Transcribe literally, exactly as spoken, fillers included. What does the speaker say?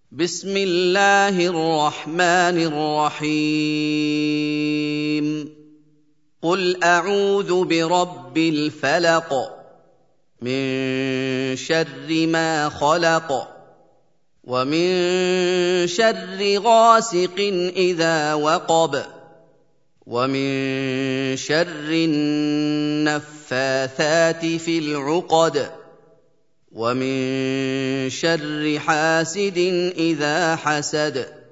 بسم الله الرحمن الرحيم قل أعوذ برب الفلق من شر ما خلق ومن شر غاسق إذا وقب ومن شر النفاثات في العقد ومن شر حاسد إذا حسد